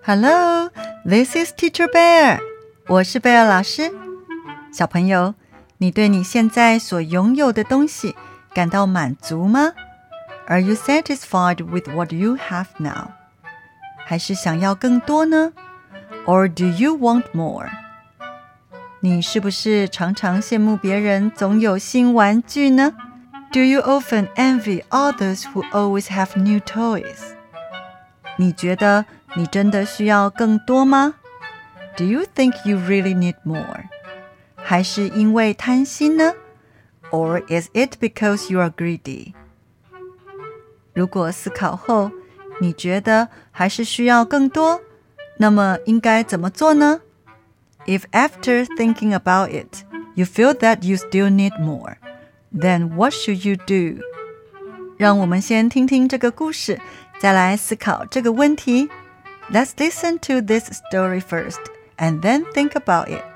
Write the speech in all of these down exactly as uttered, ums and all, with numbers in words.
Hello, this is Teacher Bear. 我是貝爾老師。小朋友，你對你現在所擁有的東西感到滿足嗎？ Are you satisfied with what you have now? 還是想要更多呢？ Or do you want more? 你是不是常常羨慕別人總有新玩具呢？ Do you often envy others who always have new toys? 你覺得你真的需要更多嗎？ Do you think you really need more? 還是因為貪心呢？ Or is it because you are greedy? 如果思考後，你覺得還是需要更多，那麼應該怎麼做呢？ If after thinking about it, you feel that you still need more, then what should you do? 讓我們先聽聽這個故事，再來思考這個問題。Let's listen to this story first, and then think about it.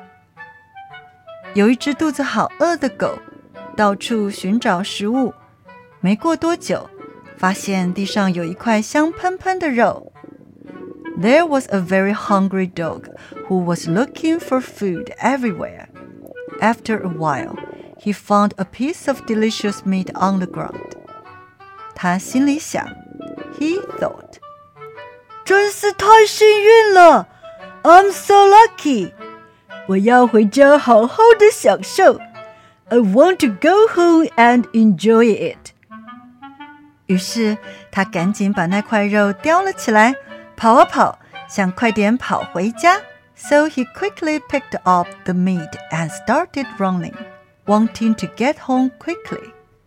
有一隻肚子好餓的狗，到處尋找食物。沒過多久，發現地上有一塊香噴噴的肉。There was a very hungry dog who was looking for food everywhere. After a while, he found a piece of delicious meat on the ground. 他心裡想 He thought, 真是太幸運了 I'm so lucky. 我要回家好好的享受 I want to go home and enjoy it. 於是他趕緊把那塊肉叼了起來，跑啊跑，想快點跑回家。So he quickly picked up the meat and started running, wanting to get home quickly.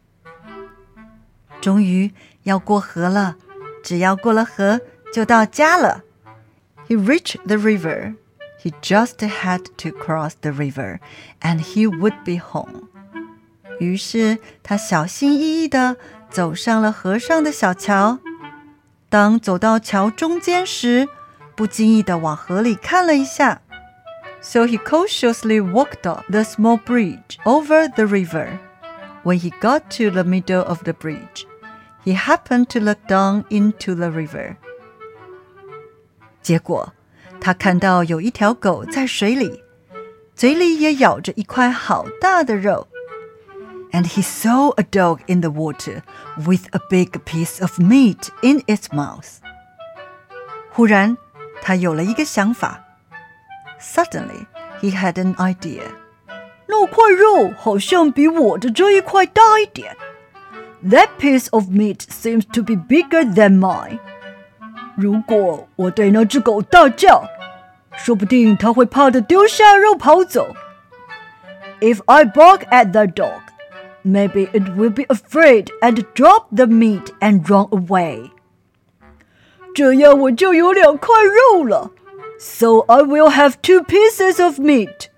終於要過河了，只要過了河就到家了。He reached the river. He just had to cross the river, and he would be home. 於是他小心翼翼地走上了河上的小橋。當走到橋中間時，不經意地往河裡看了一下。So he cautiously walked up the small bridge over the river. When he got to the middle of the bridge, he happened to look down into the river. 結果，他看到有一條狗在水裡，嘴裡也咬着一塊好大的肉。And he saw a dog in the water with a big piece of meat in its mouth. 忽然，他有了一個想法。Suddenly, he had an idea. 那塊肉好像比我的這一塊大一點。That piece of meat seems to be bigger than mine. 如果我對那隻狗大叫，說不定它會怕得丟下肉跑走。If I bark at that dog, maybe it will be afraid and drop the meat and run away. 這樣我就有兩塊肉了。So I will have two pieces of meat.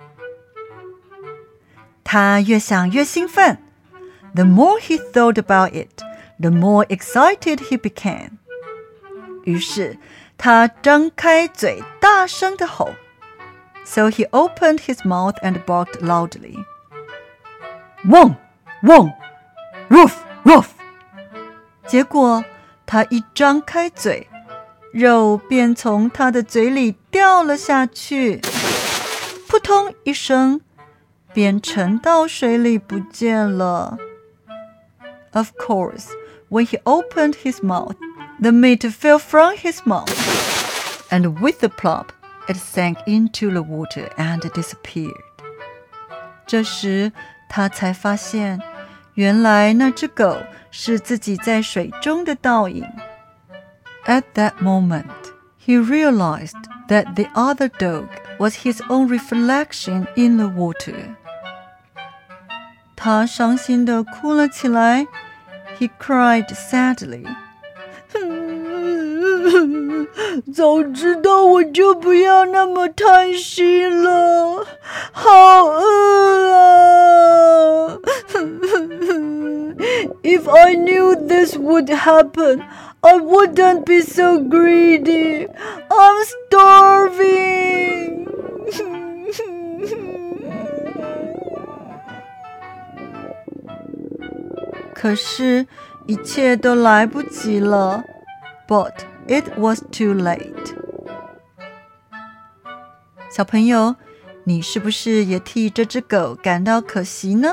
他越想越興奮。The more he thought about it, the more excited he became. 於是他張開嘴，大聲地吼。So he opened his mouth and barked loudly. Wong, wong, woof, woof. 結果他一張開嘴，肉便從他的嘴裡掉了下去，撲通一聲，便沉到水裡不見了。Of course, when he opened his mouth, the meat fell from his mouth, and with a plop, it sank into the water and disappeared. 這時，他才發現，原來那隻狗是自己在水中的倒影。At that moment, he realized that the other dog was his own reflection in the water. 他傷心地哭了起來。He cried sadly. 早知道我就不要那麼貪心了，好餓啊！If I knew this would happen, I wouldn't be so greedy. I'm starving. 可是，一切都來不及了。But it was too late. 小朋友，你是不是也替這隻狗感到可惜呢？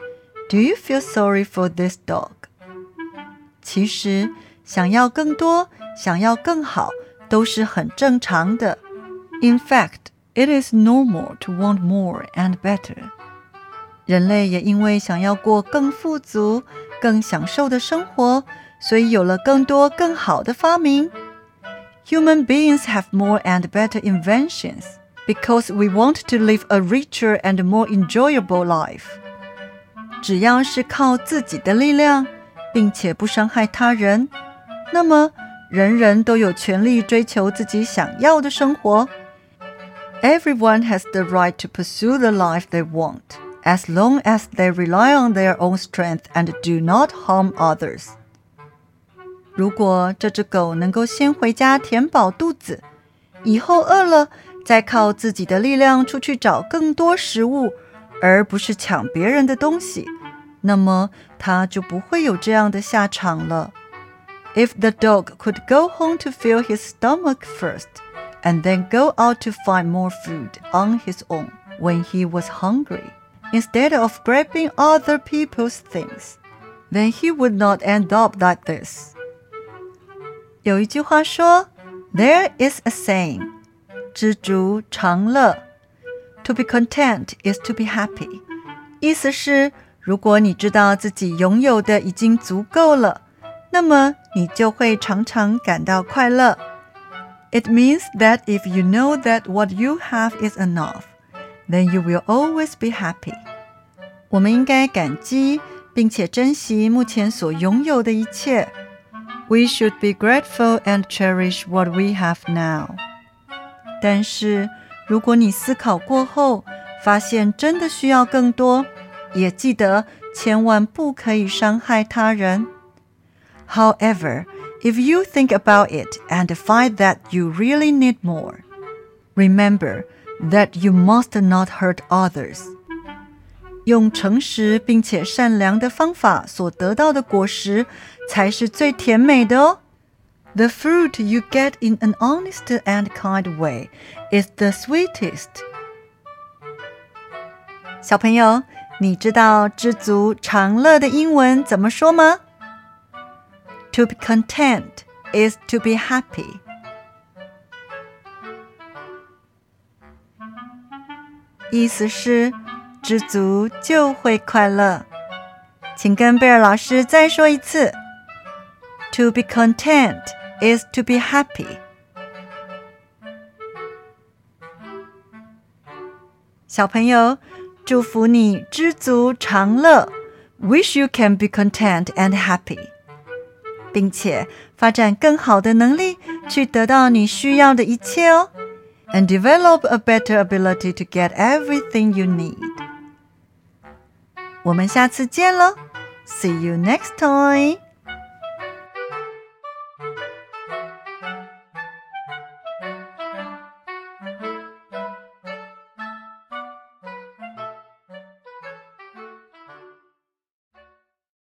Do you feel sorry for this dog? 其實，想要更多，想要更好，都是很正常的。In fact, it is normal to want more and better. 人類也因為想要過更富足、更享受的生活，所以有了更多更好的發明。Human beings have more and better inventions because we want to live a richer and more enjoyable life. 只要是靠自己的力量，並且不傷害他人，那麼人人都有權利追求自己想要的生活。Everyone has the right to pursue the life they want, as long as they rely on their own strength and do not harm others. 如果這隻狗能夠先回家填飽肚子，以後餓了再靠自己的力量出去找更多食物，而不是搶別人的東西，那麼它就不會有這樣的下場了。If the dog could go home to fill his stomach first, and then go out to find more food on his own when he was hungry, instead of grabbing other people's things, then he would not end up like this. 有一句話說 There is a saying, 知足常樂 To be content is to be happy. 意思是，如果你知道自己擁有的已經足夠了，那麼你就會常常感到快樂。It means that if you know that what you have is enough, then you will always be happy. 我們應該感激並且珍惜目前所擁有的一切。We should be grateful and cherish what we have now. 但是，如果你思考過後，發現真的需要更多，也記得千萬不可以傷害他人。However, if you think about it and find that you really need more, remember that you must not hurt others. 用誠實並且善良的方法所得到的果實，才是最甜美的哦。The fruit you get in an honest and kind way is the sweetest. 小朋友，你知道知足常樂的英文怎麼說嗎？ To be content is to be happy. 意思是知足就會快樂。請跟貝爾老師再說一次。To be content is to be happy. 小朋友，祝福你知足常樂。Wish you can be content and happy. 並且發展更好的能力，去得到你需要的一切哦。And develop a better ability to get everything you need. 我們下次見囉。See you next time.